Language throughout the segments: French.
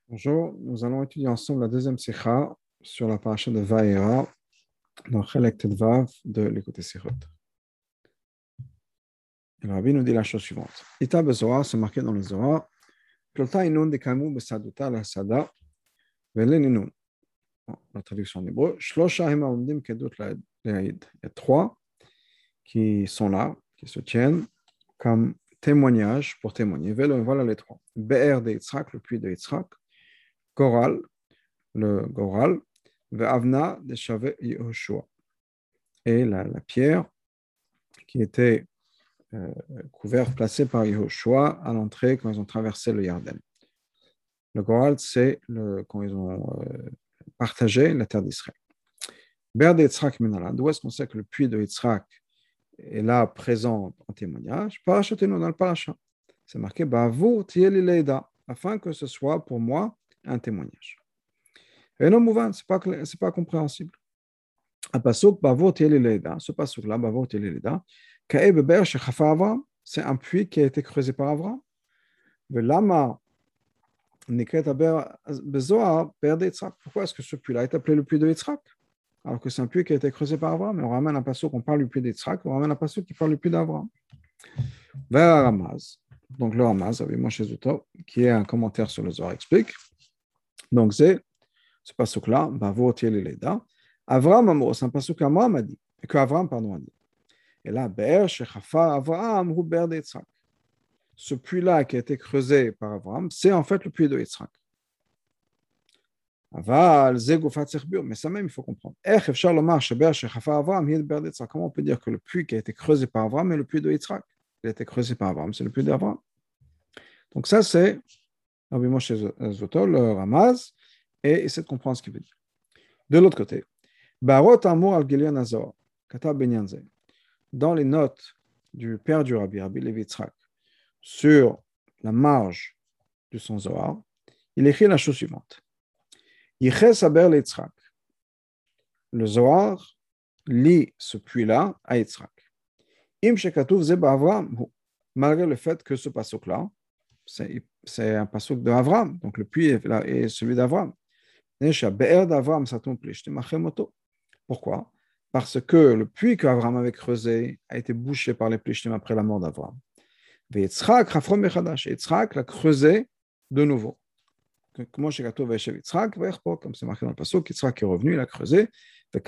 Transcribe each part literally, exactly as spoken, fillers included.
Bonjour, nous allons étudier ensemble la deuxième sikha sur la paracha de Vaera dans Chelek Tedvav de l'écouté Sichot. Le Rabbi nous dit la chose suivante. Ita bezoar, c'est marqué dans le Zohar, Plota inun dekamu besaduta la sada, velen inun. La traduction en hébreu, Shlosha hema umdim kedut laid. Il y a trois qui sont là, qui se tiennent comme témoignage pour témoigner. Voilà les trois. Be'er de Yitzhak, le puits de Yitzhak, Goral, le Goral, Ve'avna de Shave Yehoshua, et la, la pierre qui était euh, couverte, placée par Yehoshua à l'entrée quand ils ont traversé le Yarden. Le Goral, c'est le, quand ils ont euh, partagé la terre d'Israël. Ber de Yitzhak Menala, d'où est-ce qu'on sait que le puits de Yitzhak est là présent en témoignage? Parachatenu dans le paracha. C'est marqué Ba'avur tieli leida, afin que ce soit pour moi un témoignage. Et non mouvant, c'est pas c'est pas compréhensible. Un pasuk Ba'avur tieli leida, ce pasuk là Ba'avur tieli leida, Ka'e beber shechafa Avram, c'est un puits qui a été creusé par Avram. Velama nikret aber bezoar ber de Yitzhak. Pourquoi est-ce que ce puits là est appelé le puits de Yitzhak? Alors que c'est un puits qui a été creusé par Avram, mais on ramène un pasuk, on parle du puits d'Yitzhak, on ramène un pasuk qui parle du puits d'Avram. Vers Ramaz, donc le Ramaz, avec Moshe Zuto, qui est un commentaire sur le Zohar, explique. Donc c'est ce pasuk-là, Bavo Tiel Leda. Avram Amo, c'est un pasuk qu'Avram a dit, que Avram, pardon, a dit. Et là, Be'er Shechafa Avram Hu Ber de Yitzhak. Ce puits-là qui a été creusé par Avram, c'est en fait le puits de Yitzhak. Aval, Zegufat Serbur, mais ça même, il faut comprendre. Comment on peut dire que le puits qui a été creusé par Avram est le puits de Yitzhak? Il a été creusé par Avram, c'est le puits d'Avram. Donc ça, c'est Rabbi Moshe Zoto, le Ramaz, et essaie de comprendre ce qu'il veut dire. De l'autre côté, Barot Amour al-Gilion Azor, Kata Benyanze, dans les notes du père du Rabbi, Rabbi Levi Yitzhak, sur la marge de son Zohar, il écrit la chose suivante. Yiches Aber le Yitzhak. Le Zohar lit ce puits-là à Yitzhak. Im Shekatuv Zeba Avram, malgré le fait que ce pasuk-là, c'est, c'est un pasuk d'Avram, donc le puits est, là, est celui d'Avram. Pourquoi? Parce que le puits qu'Avram avait creusé a été bouché par les Plishtim après la mort d'Avram. Et Yitzhak l'a creusé de nouveau. Comme c'est marqué dans le pasuk, Yitzhak est revenu, il a creusé. Il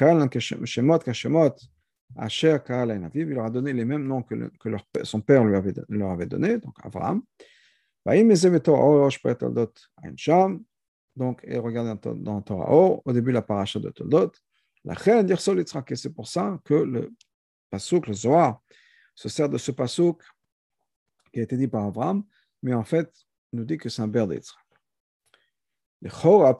leur a donné les mêmes noms que, le, que leur, son père lui avait, leur avait donné, donc Abraham. Donc, et regardez dans, dans Torah O, au début de la paracha de Toldot, la reine d'Irsol Yitzhak, et c'est pour ça que le pasuk, le Zohar, se sert de ce pasuk qui a été dit par Abraham, mais en fait, nous dit que c'est un ber de Yitzhak. A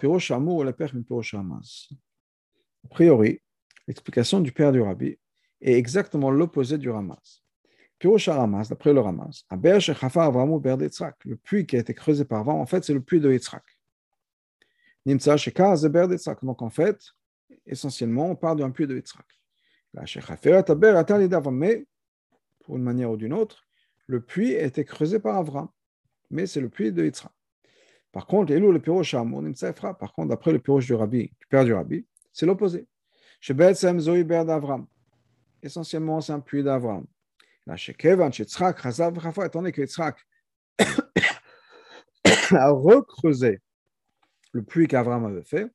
priori, l'explication du père du Rabbi est exactement l'opposé du Ramaz. Pirosh Ramaz, d'après le Ramaz, le puits qui a été creusé par Avram, en fait, c'est le puits de Yitzhak. Donc, en fait, essentiellement, on parle d'un puits de Yitzhak. Mais, pour une manière ou d'une autre, le puits a été creusé par Avram, mais c'est le puits de Yitzhak. Par contre, le pirosh par contre, d'après le pirosh du Rabbi, du père du Rabbi, c'est l'opposé. Essentiellement, c'est un puits d'Avram. Étant donné que Yitzhak a recreusé le puits qu'Avram avait fait,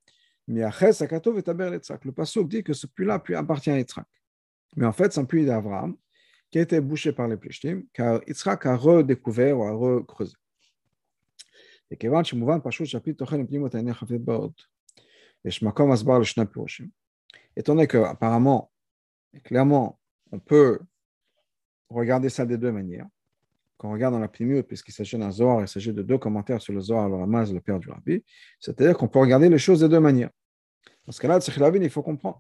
le pasuk dit que ce puits-là appartient à Yitzhak. Mais en fait, c'est un puits d'Avram qui a été bouché par les Plishtim, car Yitzhak a redécouvert ou a recreusé. Et כיוון שמובן פשוט שהפי תוכן לפנימות העיני חפית באות, יש מקום הסבר לשני פירושים. Étant donné qu'apparemment, clairement, on peut regarder ça de deux manières. Quand on regarde dans la pnimiut, puisqu'il s'agit d'un Zohar, il s'agit de deux commentaires sur le Zohar, le Ramaz, le père du Rabbi, c'est-à-dire qu'on peut regarder les choses de deux manières. Dans ce cas-là, il faut comprendre.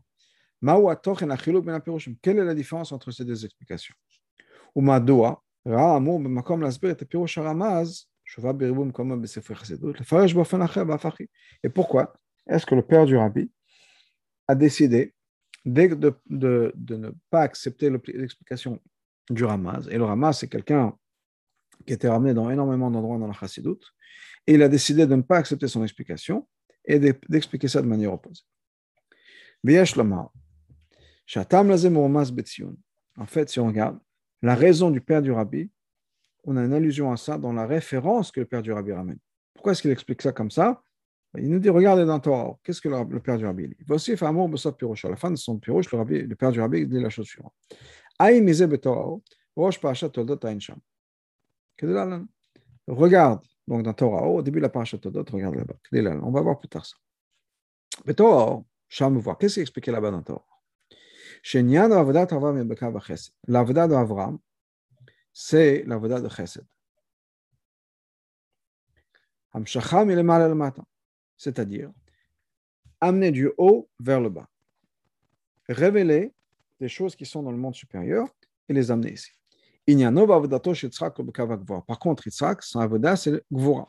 Quelle est la différence entre ces deux explications? Et pourquoi est-ce que le père du Rabbi a décidé de, de, de, de ne pas accepter l'explication du Ramaz? Et le Ramaz, c'est quelqu'un qui était ramené dans énormément d'endroits dans la Chassidut, et il a décidé de ne pas accepter son explication et d'expliquer ça de manière opposée. En fait, si on regarde, la raison du père du rabbi, on a une allusion à ça dans la référence que le père du rabbi ramène. Pourquoi est-ce qu'il explique ça comme ça? Il nous dit, regardez dans Torah, qu'est-ce que le, le père du rabbi dit? Voici, à la fin de son pirouche, le, rabbi, le père du rabbi dit la chose suivante. Regarde, donc dans Torah, au début de la parashat Todot, regarde là-bas. On va voir plus tard ça. Mais Torah, Sham voir, qu'est-ce qu'il expliquait là-bas dans Torah? L'avodat d'Avram, c'est l'avodat de Chesed. C'est-à-dire amener du haut vers le bas. Révéler des choses qui sont dans le monde supérieur et les amener ici. Par contre, Yitzhak, son avodat, c'est le Gvura.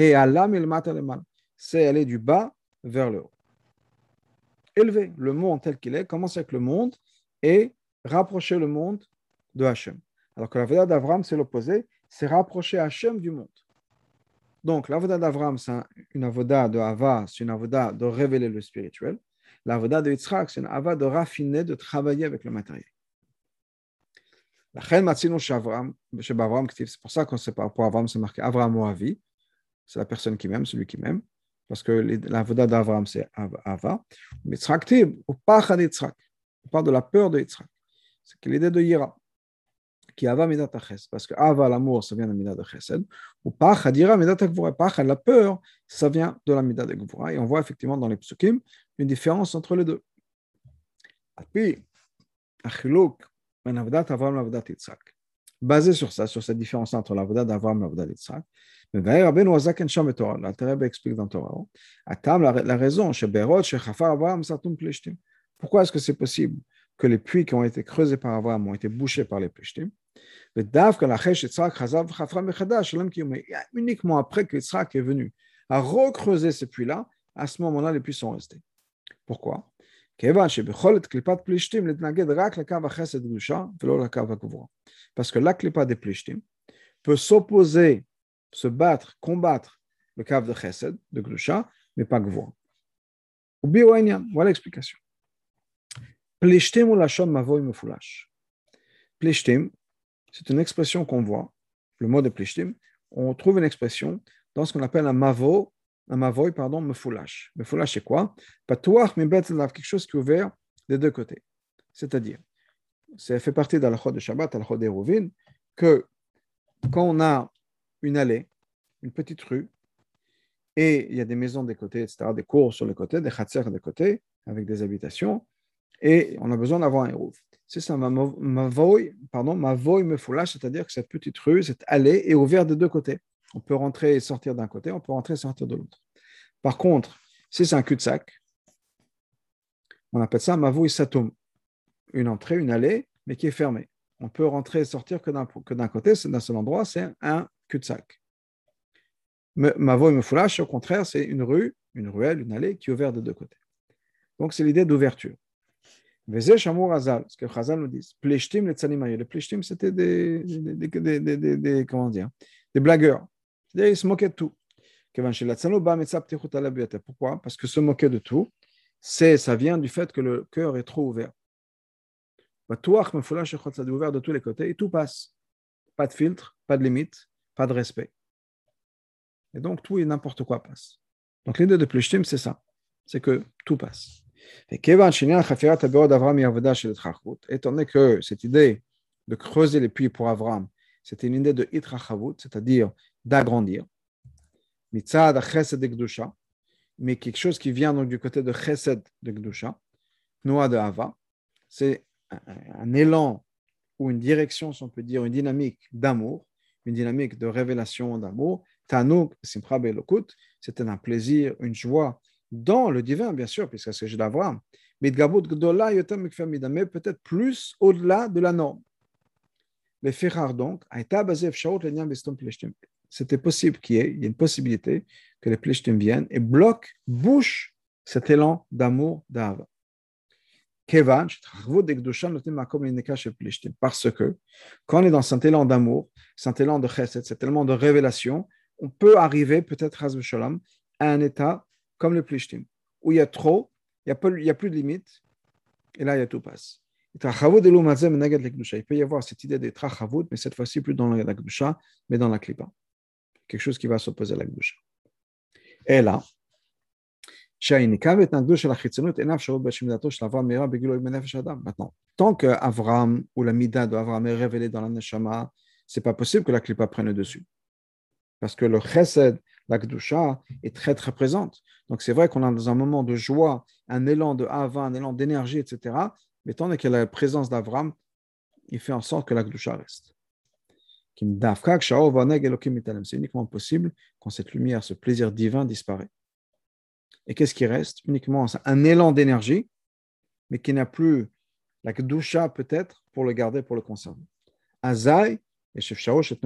C'est aller du bas vers le haut. Élever le monde tel qu'il est, commencer avec le monde et rapprocher le monde de Hachem. Alors que l'avodat d'Avram, c'est l'opposé, c'est rapprocher Hachem du monde. Donc, l'avodat d'Avram, c'est une avodat de Hava, c'est une avodat de révéler le spirituel. L'avodat de Yitzhak, c'est une avodat de raffiner, de travailler avec le matériel. C'est pour ça qu'on sait pas, pour Avram, c'est marqué Avram Oavi, c'est la personne qui m'aime, celui qui m'aime, parce que l'avodat d'Avram, c'est Ava. Mais Yitzhak Tib, au Pachad Yitzhak, on parle de la peur de Yitzhak. C'est l'idée de Yira, qui Ava Midat Chesed, parce que Ava, l'amour, ça vient de Midat Chesed, ou Pachad Yira Midat Gvura, Pachad, la peur, ça vient de la Midat Gvura, et on voit effectivement dans les psukim une différence entre les deux. Et puis, Achiluk, basé sur ça, sur cette différence entre l'avodat d'Avram et l'avodat d'Yitzhak, l'Alter explique dans Torah, la raison, pourquoi est-ce que c'est possible que les puits qui ont été creusés par Avram ont été bouchés par les Plishtim, uniquement après que Yitzhak est venu à recreuser ces puits-là, à ce moment-là, les puits sont restés. Pourquoi? Parce que la klipa des plishtim peut s'opposer, se battre, combattre le kav de chesed, de gdusha, mais pas gvura. Voilà l'explication. Plishtim ou lachon mavoy mefulash. Plishtim, c'est une expression qu'on voit, le mot de plishtim, on trouve une expression dans ce qu'on appelle un mavo, un mavoy, pardon, mefulash. Mefulash, c'est quoi? Patouach, mais quelque chose qui est ouvert des deux côtés. C'est-à-dire, ça fait partie de la chod de Shabbat, la chod d'Eruvin, que quand on a une allée, une petite rue, et il y a des maisons des côtés, et cetera, des cours sur les côtés, des khatser des côtés, avec des habitations, et on a besoin d'avoir un eruv. C'est ça, mavoy, pardon, mavoy mefulash, c'est-à-dire que cette petite rue, cette allée est ouverte des deux côtés. On peut rentrer et sortir d'un côté, on peut rentrer et sortir de l'autre. Par contre, si c'est un cul-de-sac, on appelle ça mavoui satum, une entrée, une allée, mais qui est fermée. On peut rentrer et sortir que d'un, que d'un côté, c'est d'un seul endroit, c'est un cul-de-sac. Mavoui mefulash, au contraire, c'est une rue, une ruelle, une allée qui est ouverte de deux côtés. Donc, c'est l'idée d'ouverture. Vezé Shamour Hazal, ce que Hazal nous dit, pleshtim les tzanimayé. Les pleshtim, c'était des, des, des, des, des, des, des, comment dire, des blagueurs. C'est-à-dire, ils se moquaient de tout. Pourquoi? Parce que se moquer de tout, c'est, ça vient du fait que le cœur est trop ouvert. C'est ouvert de tous les côtés et tout passe. Pas de filtre, pas de limite, pas de respect. Et donc, tout et n'importe quoi passe. Donc, l'idée de pleshtim, c'est ça. C'est que tout passe. Et étant donné que cette idée de creuser les puits pour Avram, c'était une idée de itrachavut, c'est-à-dire d'agrandir, mitzad chesed de gdusha, mais quelque chose qui vient donc du côté de chesed de gdusha, noa de hava, c'est un, un élan ou une direction, si on peut dire, une dynamique d'amour, une dynamique de révélation d'amour. Tanouk, simcha be'elokut, c'était un plaisir, une joie dans le divin, bien sûr, puisque c'est le d'Avraham, mais peut-être plus au-delà de la norme. Les Ferrar, donc, c'était possible qu'il y ait, il y a une possibilité que les Plishtim viennent et bloquent, bouchent cet élan d'amour d'Ava. Parce que quand on est dans cet élan d'amour, cet élan de chesed, cet élan de révélation, on peut arriver peut-être à un état comme le plishtim, où il y a trop, il n'y a, a plus de limite, et là, il y a tout passe. Il peut y avoir cette idée de trachavut, mais cette fois-ci plus dans la gdusha, mais dans la klipa. Quelque chose qui va s'opposer à la gdusha. Et là, maintenant, tant que Avram ou la mida de Avram est révélée dans la neshama, c'est pas possible que la klipa prenne le dessus. Parce que le chesed, la kedusha, est très très présente. Donc c'est vrai qu'on a dans un moment de joie, un élan de hava, un élan d'énergie, et cetera. Mais tant qu'il y a la présence d'Avram, il fait en sorte que la kedusha reste. C'est uniquement possible quand cette lumière, ce plaisir divin disparaît. Et qu'est-ce qui reste? Uniquement un élan d'énergie, mais qui n'a plus la kedusha peut-être pour le garder, pour le conserver. Azaï, à ce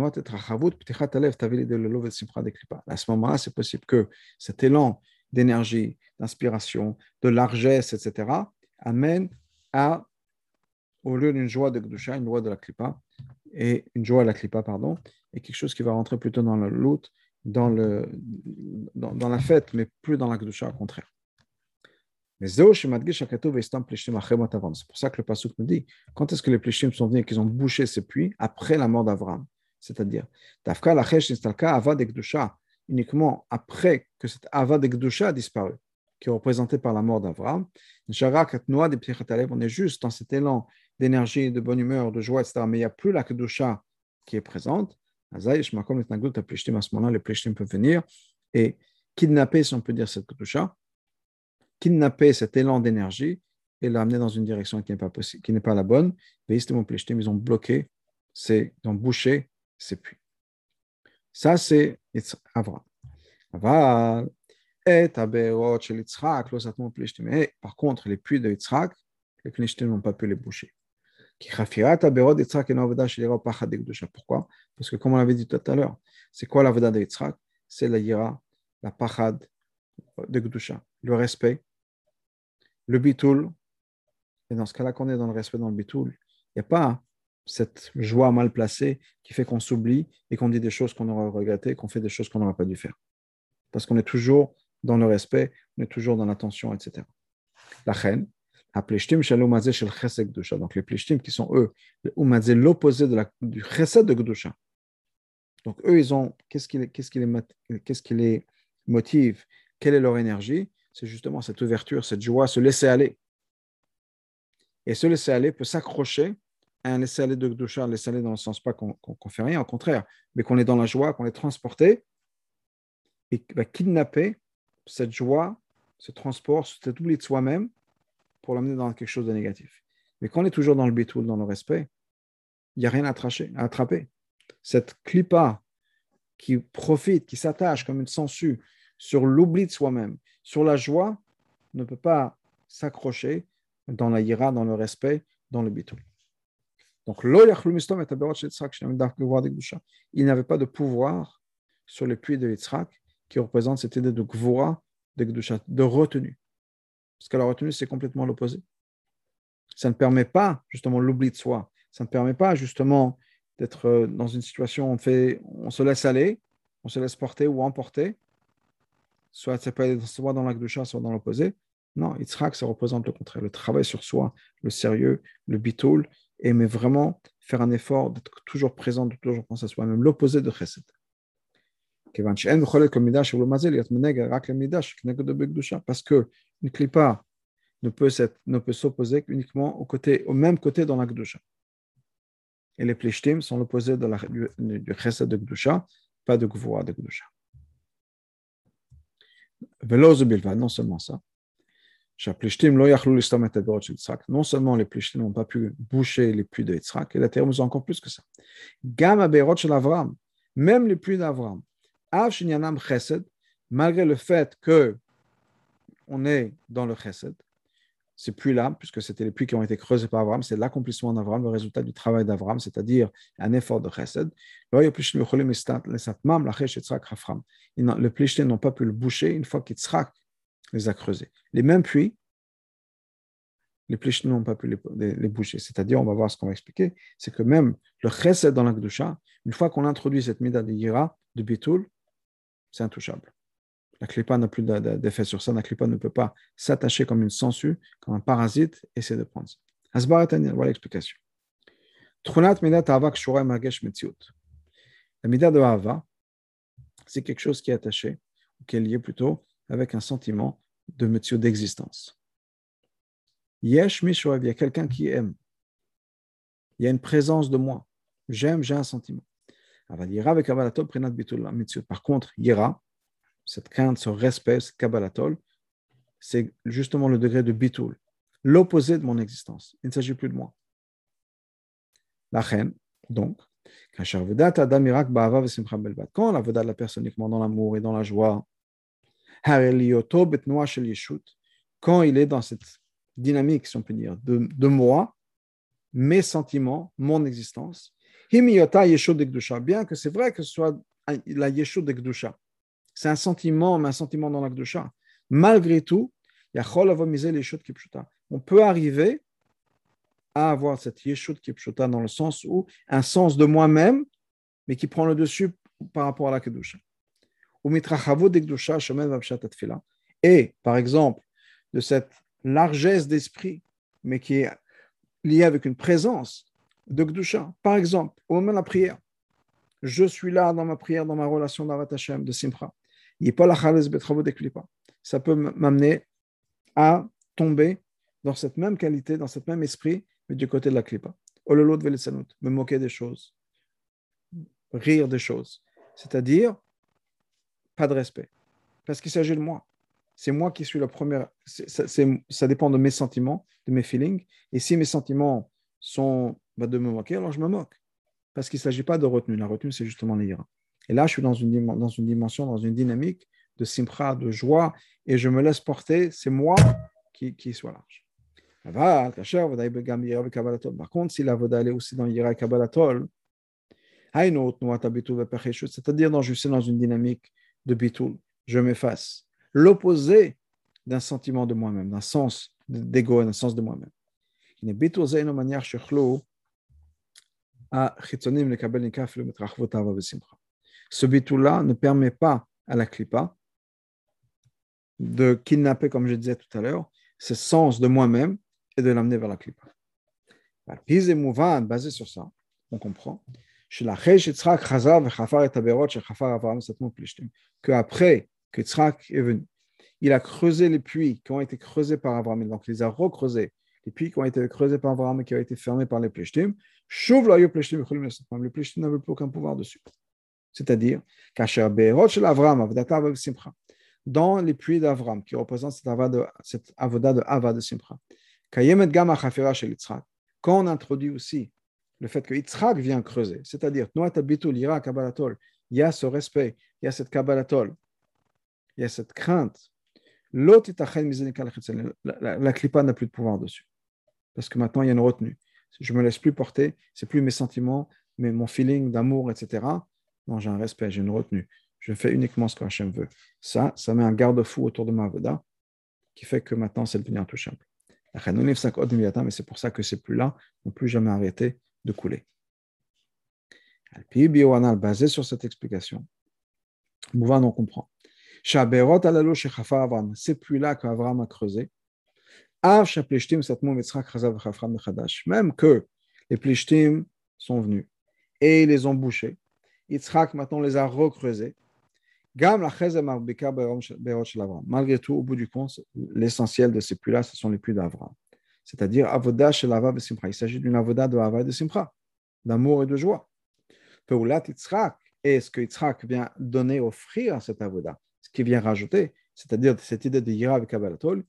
moment-là, c'est possible que cet élan d'énergie, d'inspiration, de largesse, et cetera, amène à, au lieu d'une joie de Kedusha, une joie de la Klippa, et une joie de la Klippa, pardon, et quelque chose qui va rentrer plutôt dans le loot, dans, le, dans, dans la fête, mais plus dans la Kedusha, au contraire. C'est pour ça que le pasuk nous dit, quand est-ce que les plishtim sont venus et qu'ils ont bouché ces puits? Après la mort d'Avram. C'est-à-dire, uniquement après que cette ava de Kedusha a disparu, qui est représentée par la mort d'Avram. On est juste dans cet élan d'énergie, de bonne humeur, de joie, et cetera. Mais il n'y a plus la Kedusha qui est présente. À ce moment-là, les plishtim peuvent venir et kidnapper, si on peut dire, cette Kedusha, kidnapper cet élan d'énergie et l'amener dans une direction qui n'est pas possible, qui n'est pas la bonne. Ils ont bloqué, ils ont bouché ces puits. Ça, c'est Avram. Aval, et Aberot chez Yitzhak, par contre, les puits de Yitzhak, les Plishtim n'ont pas pu les boucher. Pourquoi? Parce que, comme on l'avait dit tout à l'heure, c'est quoi la veda de Yitzhak? C'est la yira, la pachad de Gdusha, le respect, le bitoul, et dans ce cas-là, quand on est dans le respect, dans le bitoul, il n'y a pas cette joie mal placée qui fait qu'on s'oublie et qu'on dit des choses qu'on aurait regrettées, qu'on fait des choses qu'on n'aurait pas dû faire. Parce qu'on est toujours dans le respect, on est toujours dans l'attention, et cetera. La reine, donc les plishtim qui sont eux, l'opposé de la, du chesed de Gdusha. Donc eux, ils ont, qu'est-ce qui, qu'est-ce qui, les, qu'est-ce qui les motive? Quelle est leur énergie? C'est justement cette ouverture, cette joie, se laisser aller. Et ce laisser aller peut s'accrocher à un laisser aller de Gdusha, un laisser aller dans le sens pas qu'on ne fait rien, au contraire, mais qu'on est dans la joie, qu'on est transporté, et va kidnapper cette joie, ce transport, cet oubli de soi-même pour l'amener dans quelque chose de négatif. Mais quand on est toujours dans le bitoul, dans le respect, il n'y a rien à, tracher, à attraper. Cette clipa qui profite, qui s'attache comme une sangsue sur l'oubli de soi-même, sur la joie, ne peut pas s'accrocher dans la yira, dans le respect, dans le bitoul. Donc, il n'avait pas de pouvoir sur les puits de Yitzhak qui représente cette idée de gvura, de Gdusha, de retenue. Parce que la retenue, c'est complètement l'opposé. Ça ne permet pas, justement, l'oubli de soi. Ça ne permet pas, justement, d'être dans une situation où on, fait, on se laisse aller, on se laisse porter ou emporter, soit, soit dans la Gdusha, soit dans l'opposé. Non, Yitzhak, ça représente le contraire, le travail sur soi, le sérieux, le bitoul, et mais vraiment faire un effort d'être toujours présent, de toujours penser à soi-même, l'opposé de Chesed. Parce que une klipa ne peut, ne peut s'opposer uniquement au, côté, au même côté dans la Gdusha. Et les plishtim sont l'opposé de la, du, du Chesed de Gdusha, pas de Gvura de Gdusha. Non seulement ça, non seulement les plishtim n'ont pas pu boucher les puits de Yitzhak, et la terre nous a encore plus que ça. Même les puits d'Avram, malgré le fait qu'on est dans le chesed, ces puits-là, puisque c'était les puits qui ont été creusés par Avram, c'est l'accomplissement d'Avram, le résultat du travail d'Avram, c'est-à-dire un effort de chesed. Les plishtim n'ont pas pu le boucher une fois qu'Yitzhak les a creusés. Les mêmes puits, les Plishtim n'ont pas pu les, les, les bouger. C'est-à-dire, on va voir ce qu'on va expliquer, c'est que même le chesed dans la Kedusha, une fois qu'on introduit cette mida de Yira, de Bitul, c'est intouchable. La Klippa n'a plus d'effet sur ça, la Klippa ne peut pas s'attacher comme une sangsue, comme un parasite, et essayer de prendre ça. Asbar et voilà l'explication. Tchunat midat ahava kshura margesh metziut. La mida de ahava, c'est quelque chose qui est attaché, ou qui est lié plutôt avec un sentiment de metziut d'existence. Yesh mishoev, il y a quelqu'un qui aime. Il y a une présence de moi. J'aime, j'ai un sentiment. Par contre, Yira, cette crainte, ce respect, ce kabbalatol, c'est justement le degré de bitul, l'opposé de mon existence. Il ne s'agit plus de moi. La reine, donc, quand la voda de la personne uniquement dans l'amour et dans la joie, quand il est dans cette dynamique, si on peut dire, de, de moi, mes sentiments, mon existence, bien que c'est vrai que ce soit la yeshut de Kedusha, c'est un sentiment, mais un sentiment dans la Kedusha. Malgré tout, on peut arriver à avoir cette yeshut kipshuta dans le sens où un sens de moi-même, mais qui prend le dessus par rapport à la Kedusha. Et, par exemple, de cette largesse d'esprit, mais qui est liée avec une présence de Kedusha. Par exemple, au moment de la prière, je suis là dans ma prière, dans ma relation d'Avat Hashem, de Simcha. Ça peut m'amener à tomber dans cette même qualité, dans ce même esprit, mais du côté de la Klippa. Me moquer des choses, rire des choses. C'est-à-dire, pas de respect. Parce qu'il s'agit de moi. C'est moi qui suis la première. C'est, c'est, ça dépend de mes sentiments, de mes feelings. Et si mes sentiments sont bah, de me moquer, alors je me moque. Parce qu'il ne s'agit pas de retenue. La retenue, c'est justement l'ira. Et là, je suis dans une, dans une dimension, dans une dynamique de simcha, de joie, et je me laisse porter. C'est moi qui, qui soit large. Par contre, si la voda est aussi dans l'ira et kabbalatol, c'est-à-dire dans, je suis dans une dynamique de bitul, je m'efface. L'opposé d'un sentiment de moi-même, d'un sens d'ego, d'un sens de moi-même. Ce bitul-là ne permet pas à la klipa de kidnapper, comme je disais tout à l'heure, ce sens de moi-même et de l'amener vers la klipa. Basé sur ça, on comprend qu'après que Yitzhak est venu, il a creusé les puits qui ont été creusés par Abraham, donc il les a recreusés, les puits qui ont été creusés par Abraham et qui ont été fermés par les Plishtim, les Plishtim n'avaient plus aucun pouvoir dessus. C'est-à-dire, dans les puits d'Avram, qui représentent cette avoda de Ava de Simcha, quand on introduit aussi le fait que Yitzhak vient creuser, c'est-à-dire, il y a ce respect, il y a cette kabbalatol, il y a cette crainte. La, la, la klipa n'a plus de pouvoir dessus. Parce que maintenant, il y a une retenue. Je ne me laisse plus porter, ce n'est plus mes sentiments, mais mon feeling d'amour, et cetera. Non, j'ai un respect, j'ai une retenue. Je fais uniquement ce que Hachem veut. Ça, ça met un garde-fou autour de ma avoda qui fait que maintenant, c'est devenu intouchable. Mais c'est pour ça que ces pluies-là n'ont plus jamais arrêté de couler. Basé sur cette explication, Mouvan, on comprend. Ces pluies-là qu'Avram a creusées, même que les Plishtim sont venus et ils les ont bouchés, Yitzhak maintenant les a recreusés. Malgré tout, au bout du compte, l'essentiel de ces puits-là, ce sont les puits d'Avram. C'est-à-dire, avoda shel Ava de Simcha. Il s'agit d'une avoda de Ava de Simcha, d'amour et de joie. Peulat Yitzhak, et ce que Yitzhak vient donner, offrir à cette avoda, ce qu'il vient rajouter, c'est-à-dire cette idée de Yira avec Kabbalatol,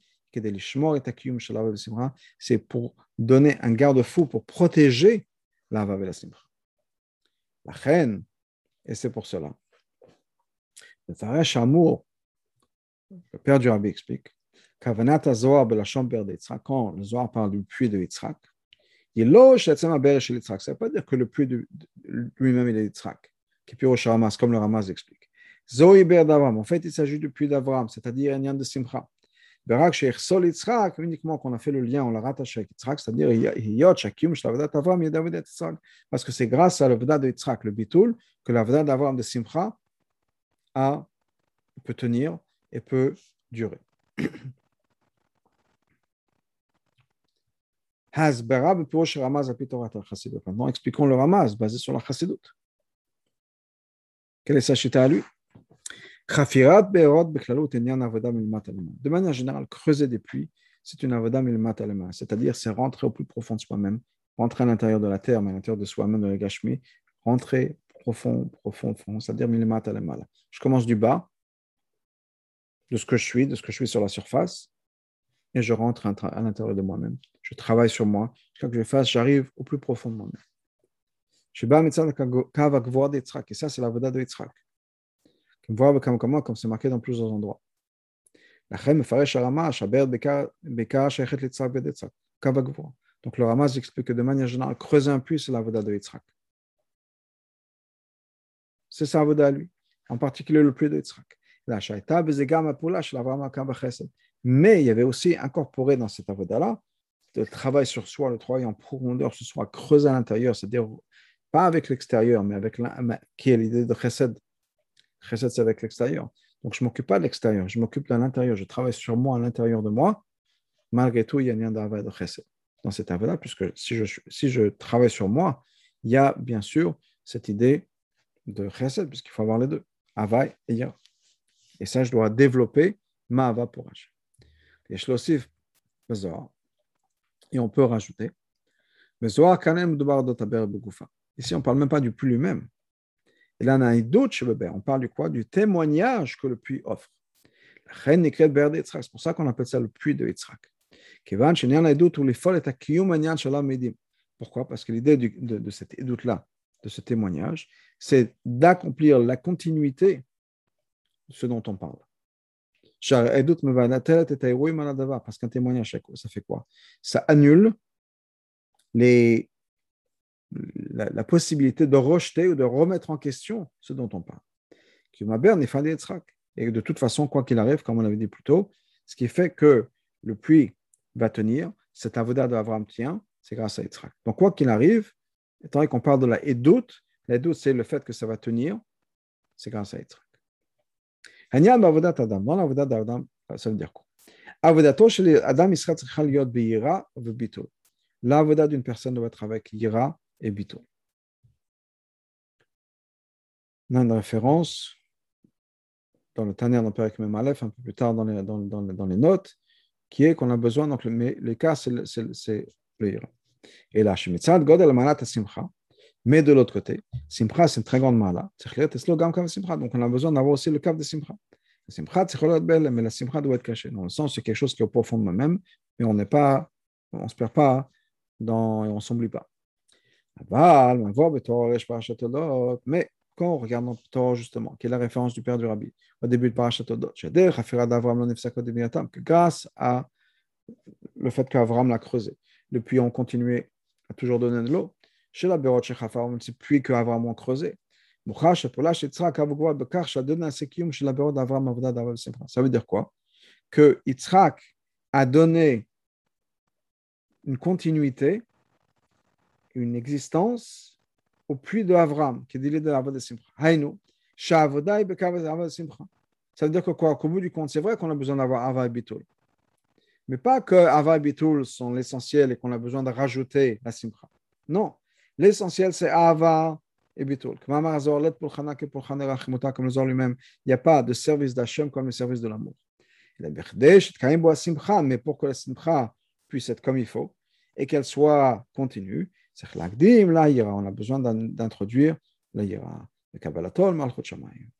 c'est pour donner un garde-fou, pour protéger l'Ava et la Simcha. La reine, et c'est pour cela. Le Tarash Amour, le père du Rabbi explique, quand le Zohar parle du puits de Yitzhak, ça ne veut pas dire que le puits de, de, lui-même est Yitzhak, qui est au Ramas, comme le Ramas explique. En fait, il s'agit du puits d'Avraham, c'est-à-dire un yan de Simcha. Berak she'echsol Yitzhak, uniquement qu'on a fait le lien, on l'a rattaché avec Yitzhak, c'est-à-dire Hiyot Shakim Shlavadat Avram Yedavid Yitzhak, parce que c'est grâce à l'Avda de Yitzhak, le Bitul, que l'Avda d'Avram de Simcha a, peut tenir et peut durer. Hasbara b'pirosh Ramaz al pi Torat al-Chassidut. Maintenant, expliquons le Ramaz basé sur la Chassidut. Quelle est sa chita à lui? De manière générale, creuser des puits, c'est une avoda milmat alema, c'est-à-dire c'est rentrer au plus profond de soi-même, rentrer à l'intérieur de la terre, mais à l'intérieur de soi-même, de la gashmi, rentrer profond, profond, profond, c'est-à-dire milmat alema. Je commence du bas, de ce que je suis, de ce que je suis sur la surface, et je rentre à l'intérieur de moi-même. Je travaille sur moi. Chaque que je fasse, j'arrive au plus profond de moi-même. Je bats et ça, c'est l'avoda de Yitzhak. Comme c'est marqué dans plusieurs endroits. Donc le Ramaz explique que de manière générale, creuser un puits, c'est l'avoda de Yitzhak. C'est ça l'avoda à lui, en particulier le puits de Yitzhak. Mais il y avait aussi incorporé dans cette avoda-là le travail sur soi, le travail en profondeur sur soi, creuser à l'intérieur, c'est-à-dire pas avec l'extérieur, mais avec la, qui est l'idée de chesed. Chesed, c'est avec l'extérieur. Donc, je ne m'occupe pas de l'extérieur, je m'occupe de l'intérieur. Je travaille sur moi, à l'intérieur de moi. Malgré tout, il y a un lien d'avay de chesed dans cette avay-là, puisque si je, si je travaille sur moi, il y a bien sûr cette idée de chesed, puisqu'il faut avoir les deux, avay et yira. Et ça, je dois développer ma ava pour Hachem. Et je l'ossif, et on peut rajouter, ici, on ne parle même pas du puits lui-même. Et là, on a un doute chez le Ber. On parle du quoi? Du témoignage que le puits offre. C'est pour ça qu'on appelle ça le puits de Yitzhak. Pourquoi? Parce que l'idée de, de cet doute-là, de ce témoignage, c'est d'accomplir la continuité de ce dont on parle. Parce qu'un témoignage, ça fait quoi? Ça annule les La, la possibilité de rejeter ou de remettre en question ce dont on parle. Et de toute façon, quoi qu'il arrive, comme on l'avait dit plus tôt, ce qui fait que le puits va tenir, cet avoda d'Abraham tient, c'est grâce à Yitzhak. Donc, quoi qu'il arrive, étant donné qu'on parle de la Edout, la Edout, c'est le fait que ça va tenir, c'est grâce à Yitzhak. Dans l'avoda d'Adam, ça veut dire quoi? L'avoda d'une personne doit être avec Yira et Bitul. On a une référence dans le Taner dans Perek Mem Aleph, un peu plus tard dans les, dans, dans, dans les notes, qui est qu'on a besoin, donc le, mais les cas, c'est le, c'est, c'est le Yira. Et là, Shemitzad Godel Manat Simcha, mais de l'autre côté, Simcha, c'est une très grande mala, donc on a besoin d'avoir aussi le cap de Simcha. La Simcha, mais la Simcha doit être cachée. Dans le sens, c'est quelque chose qui est au profond de moi-même, mais on n'est pas, on ne se perd pas dans, et on ne s'oublie pas. Mais quand on regarde dans le Torah, justement, qui est la référence du père du Rabbi, au début de Parashat Todot, que grâce à le fait qu'Avram l'a creusé, le puits ont continué à toujours donner de l'eau, chez la Berot Shechafar, c'est puits qu'Avram a creusé. Ça veut dire quoi? Que Yitzhak a donné une continuité, une existence au puits de Avram, qui est l'idée de l'Avodah Simcha. Haïnou, Sha'avodah Bekavod Simcha. Ça veut dire que quoi? Qu'au bout du compte, c'est vrai qu'on a besoin d'avoir Ava et Bitul. Mais pas que Ava et Bitul sont l'essentiel et qu'on a besoin de rajouter la Simcha. Non. L'essentiel, c'est Ava et Bitul. Comme le Zohar lui-même, il n'y a pas de service d'Hachem comme le service de l'amour. Mais pour que la Simcha puisse être comme il faut et qu'elle soit continue, on a besoin d'introduire la Yira, le Kabbalatol, Malchut Shamayim.